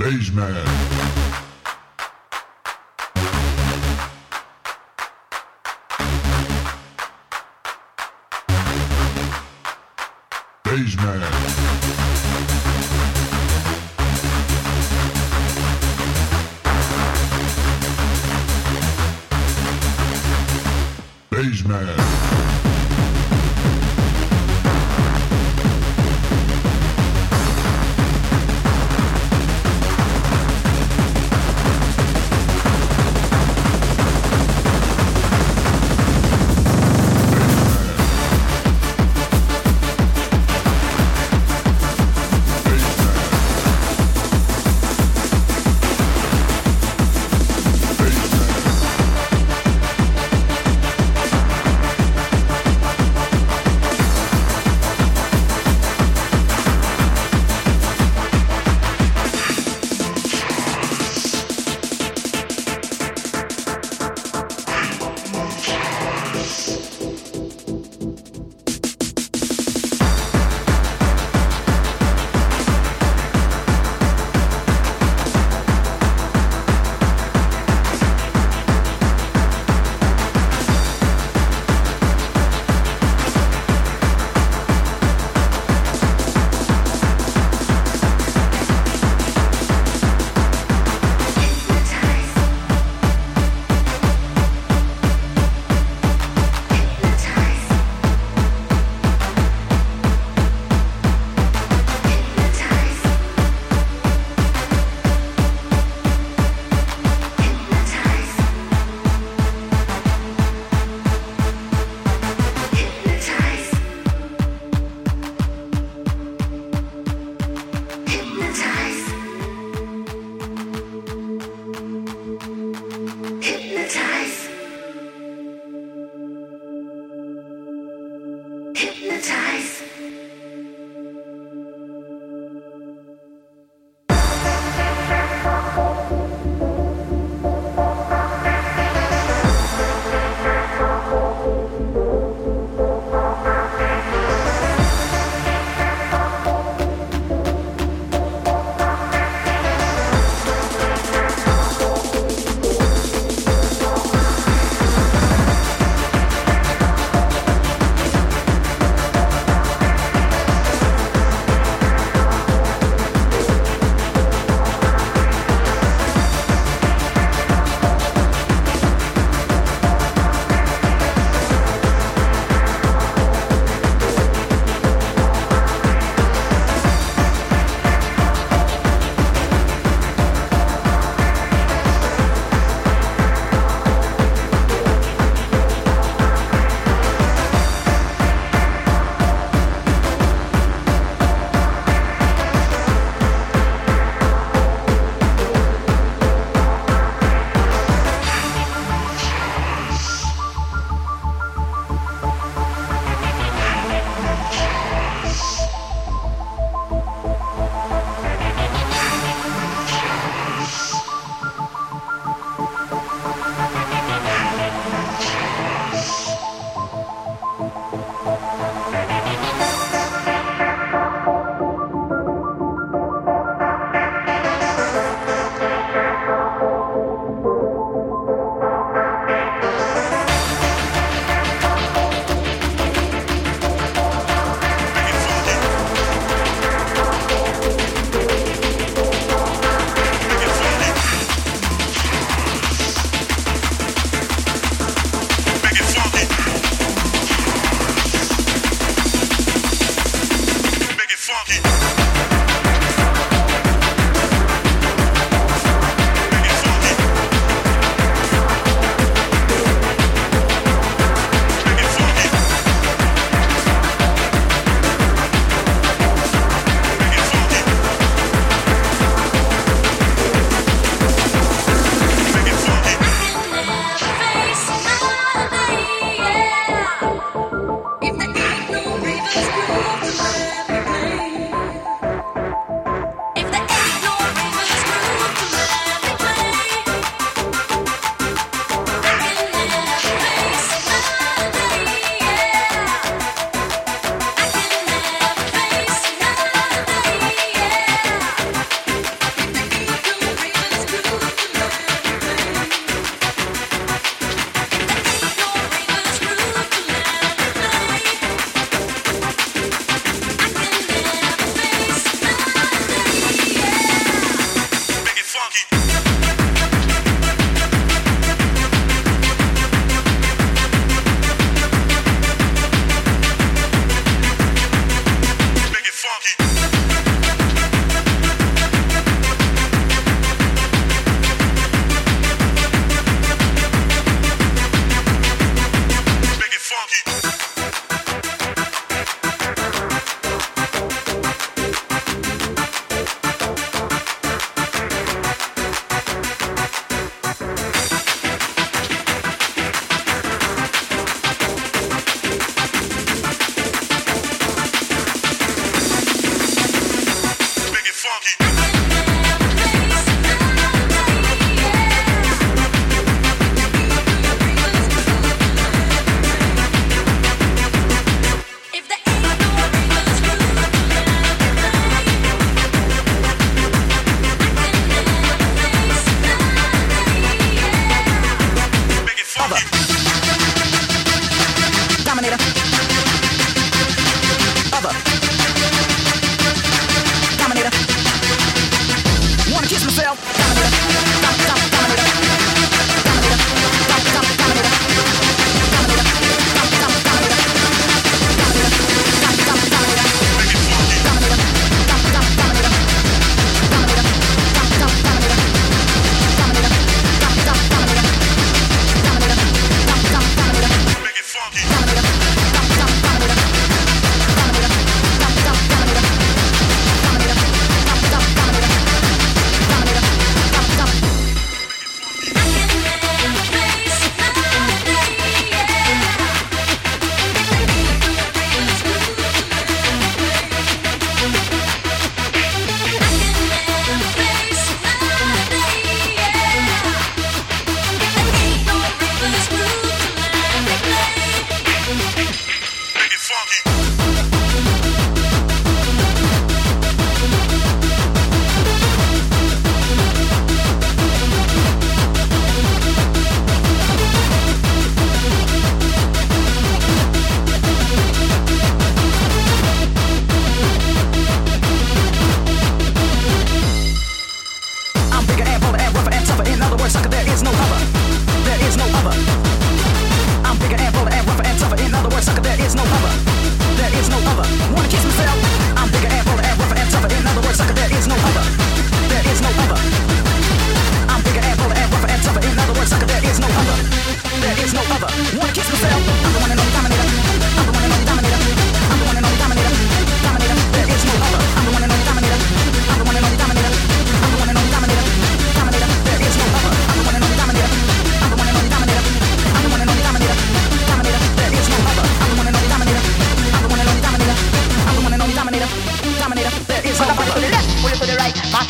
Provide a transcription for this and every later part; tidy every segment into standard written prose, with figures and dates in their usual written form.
Baseman. Baseman. Baseman.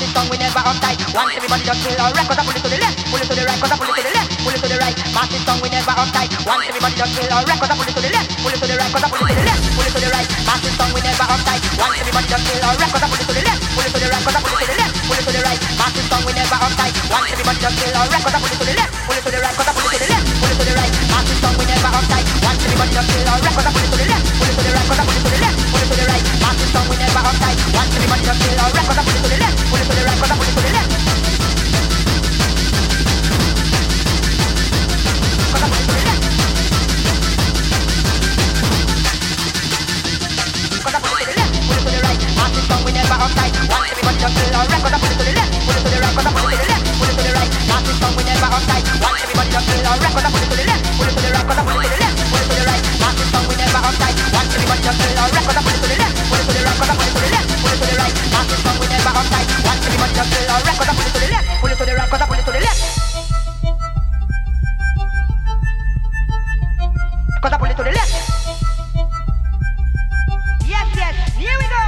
Massive song, we never uptight. Once everybody just feel alright, cause I pull it to the left, pull it to the right, cause I pull it to the left, pull it to the right. Massive song, we never uptight. Once everybody just feel alright, cause I pull it to the left, pull it to the right, cause I pull it to the left, pull it to the right. Massive song, we never uptight. Once everybody just feel alright, cause I pull it to the left, pull it to the right, cause I pull it to the left, pull it to the right. Massive song, we never uptight. Once everybody just feel alright, cause I pull it to the left, pull it to the right, cause I pull it to the left, pull it to the right. Massive song, we never uptight. Once everybody just feel alright, cause I pull it to the left, pull it to the right, cause I pull it to the left, pull it to the right. Massive song, we never uptight. Once everybody just feel alright, cause I pull it to the left, pull it to the right, cause I pull it to the left. Cause I pull it to the left. Cause I pull it to the left, pull it to the right. Massive song, we never uptight. Once everybody just feel alright, cause I pull it to the left, pull it to the right, cause I pull it to the left, pull it to the right. Massive song, we never uptight. Once everybody just feel alright, cause I pull it to the left, pull it to the right, cause I pull it to the left, pull it to the right. Massive song, we never uptight. Once everybody just feel alright, cause I pull it to the left, pull it to the right, cause I pull it to the left, pull it to the right. Massive song, we never uptight. Once everybody just feel alright, cause I pull it to the left, pull it to the right, cause I pull it to the left. Cause I pull it to the left. Yes, yes, here we go.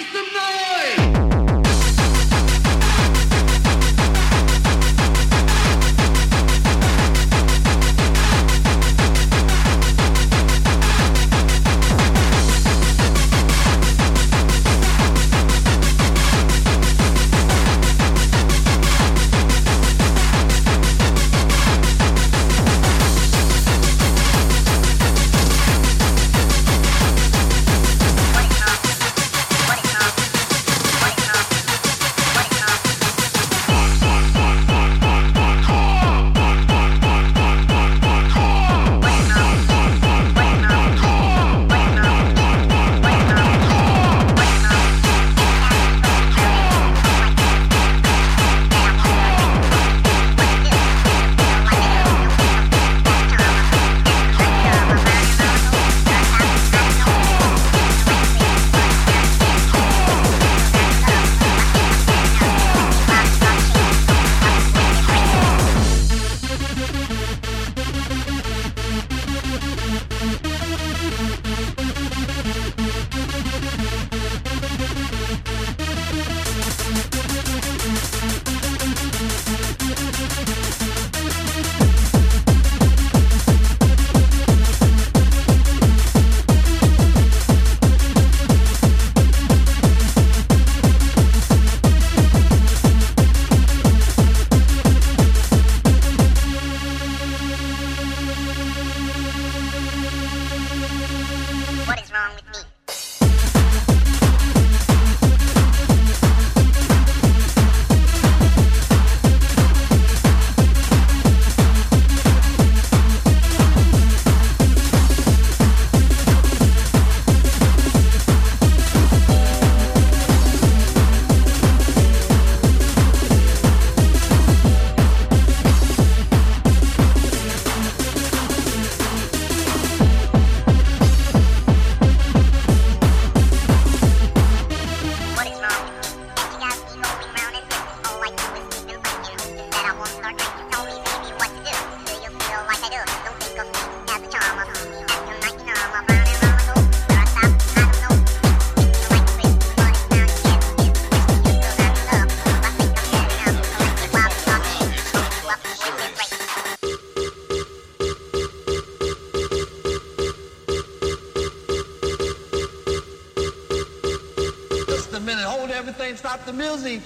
Stop the music.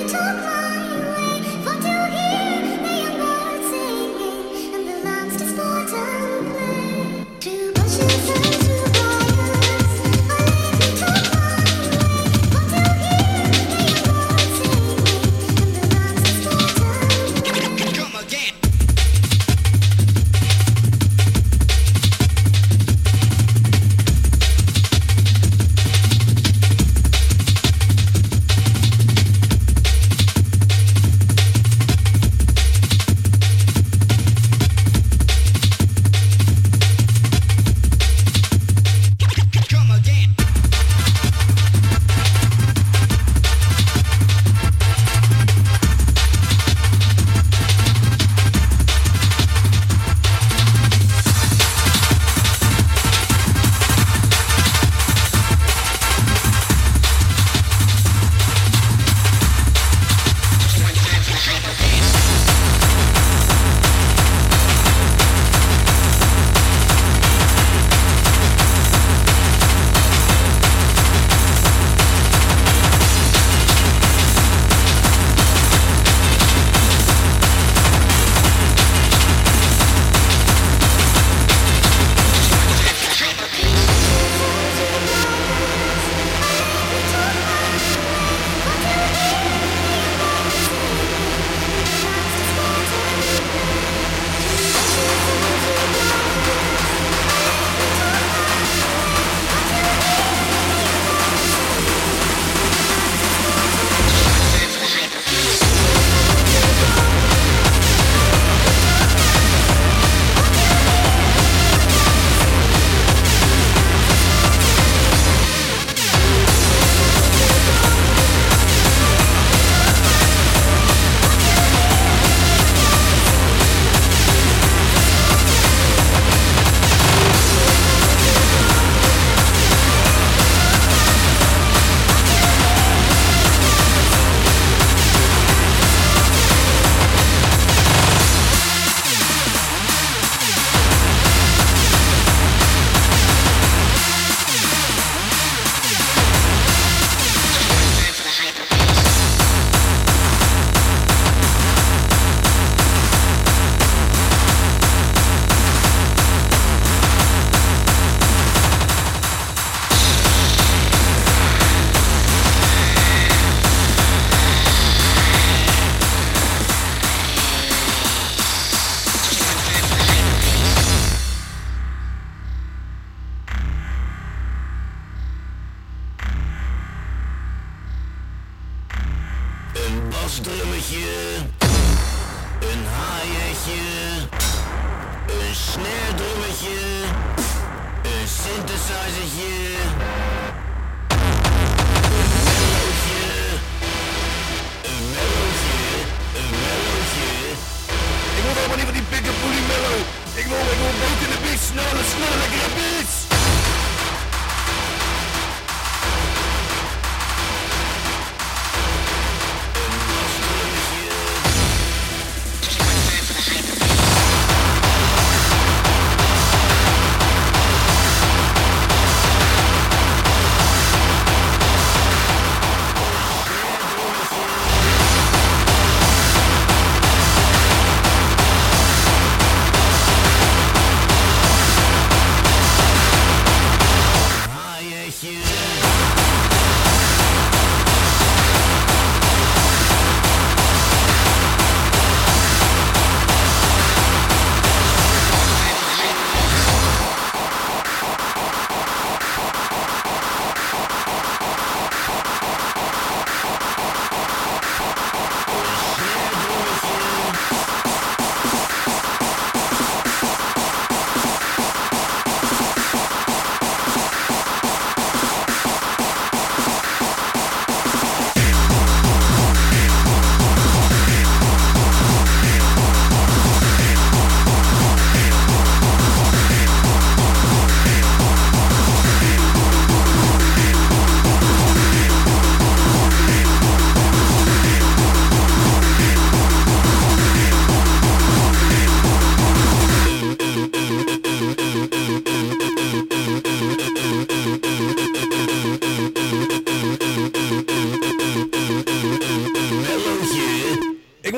basdrummetje, een haaiertje, een snaredrummetje, een synthesizertje, een mellowtje, een mellowtje. Ik wil helemaal niet van die pikkepoelie mellow. Ik wil beter in de beat, snelle, lekkere beats.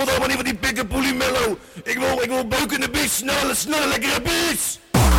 moet allemaal niet van die pikkenpoelie mellow. Ik wil beuken in de beat, sneller, lekkere beats.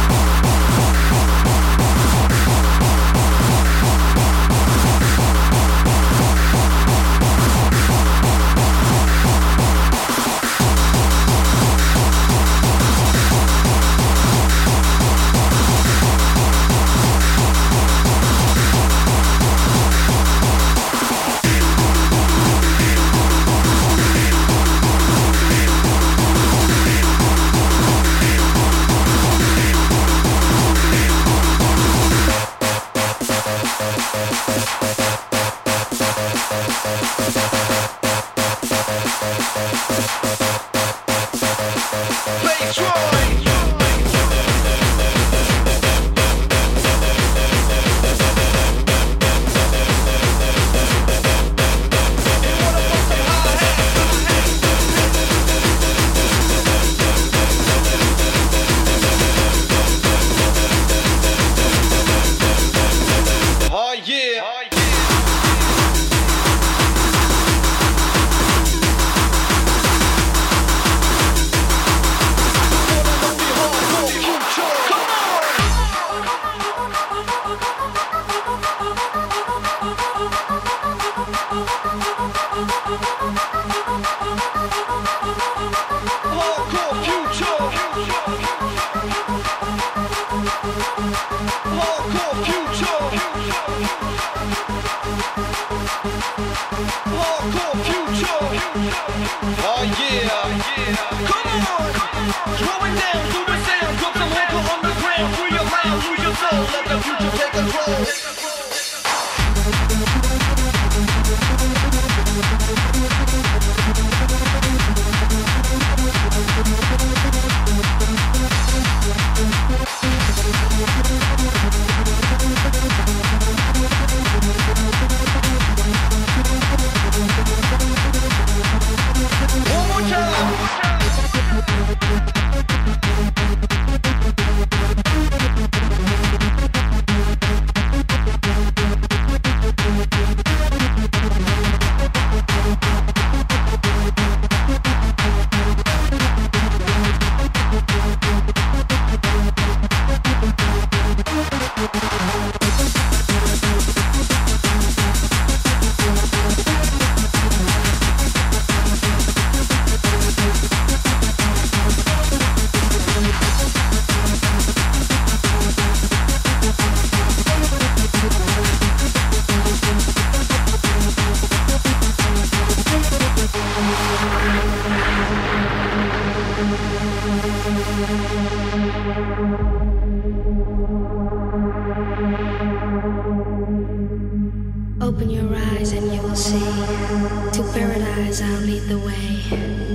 Open your eyes and you will see. To paradise I'll lead the way.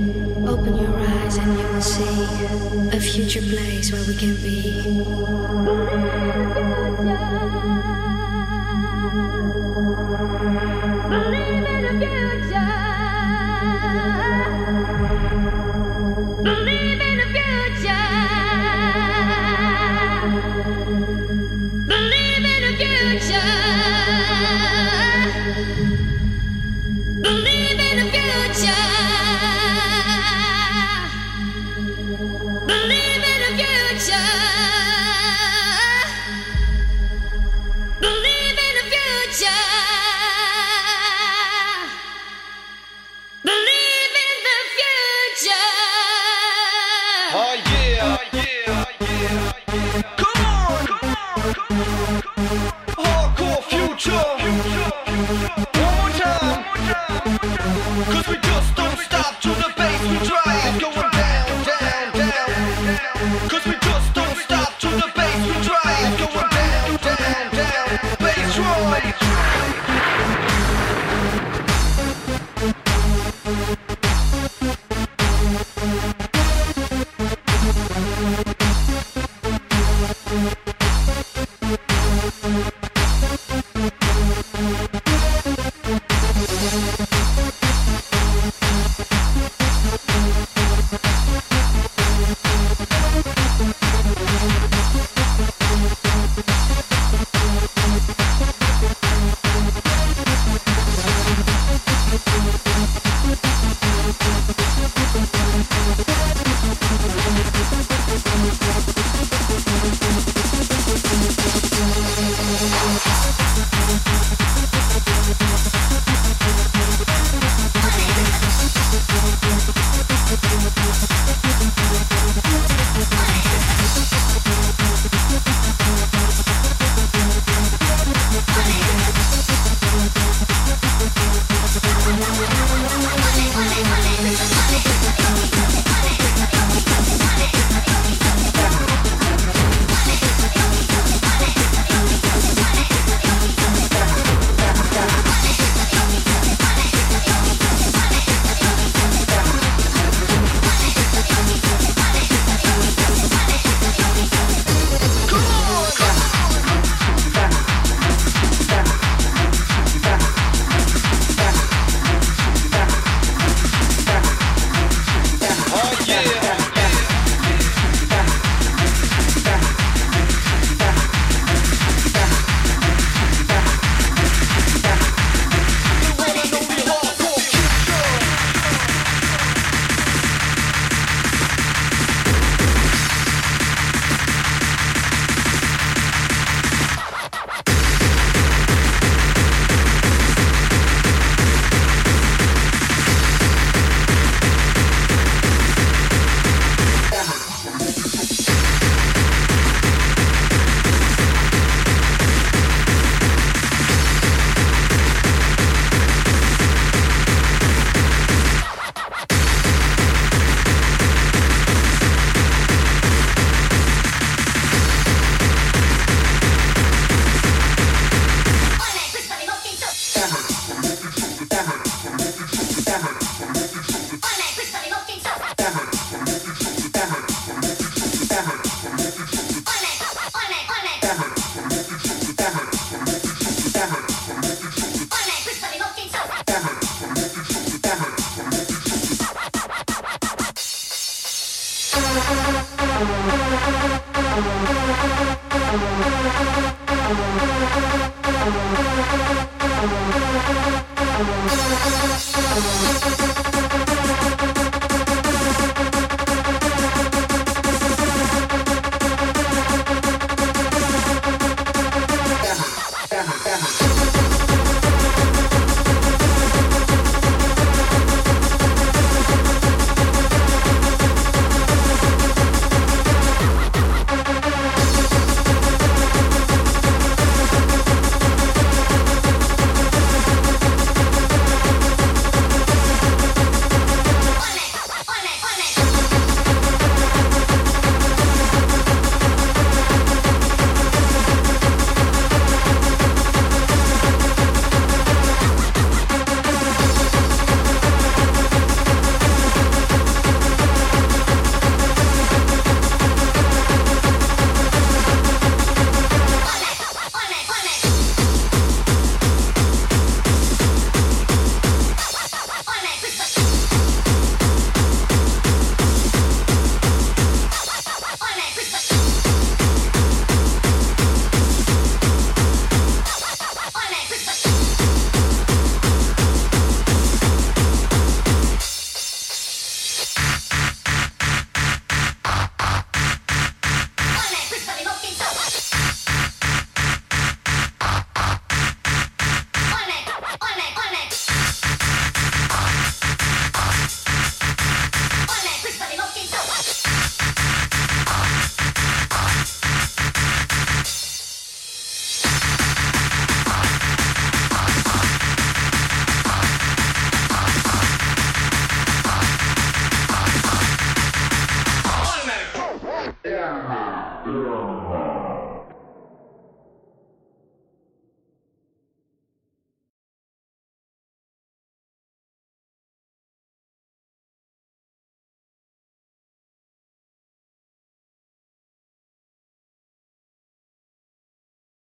Open your eyes and you will see a future place where we can be. Believe in the future. Believe in the future. Believe in the future. Believe in the future. Believe in the future. Believe in the future. Believe in the future. Oh yeah, oh yeah, oh yeah. Come on, come on, come on. Hardcore future. One more time. 'Cause we just don't stop to the bass we drive. Going down, down, down. 'Cause we just don't stop to the bass we drive. Going down, down, down. Bass drive. Yeah.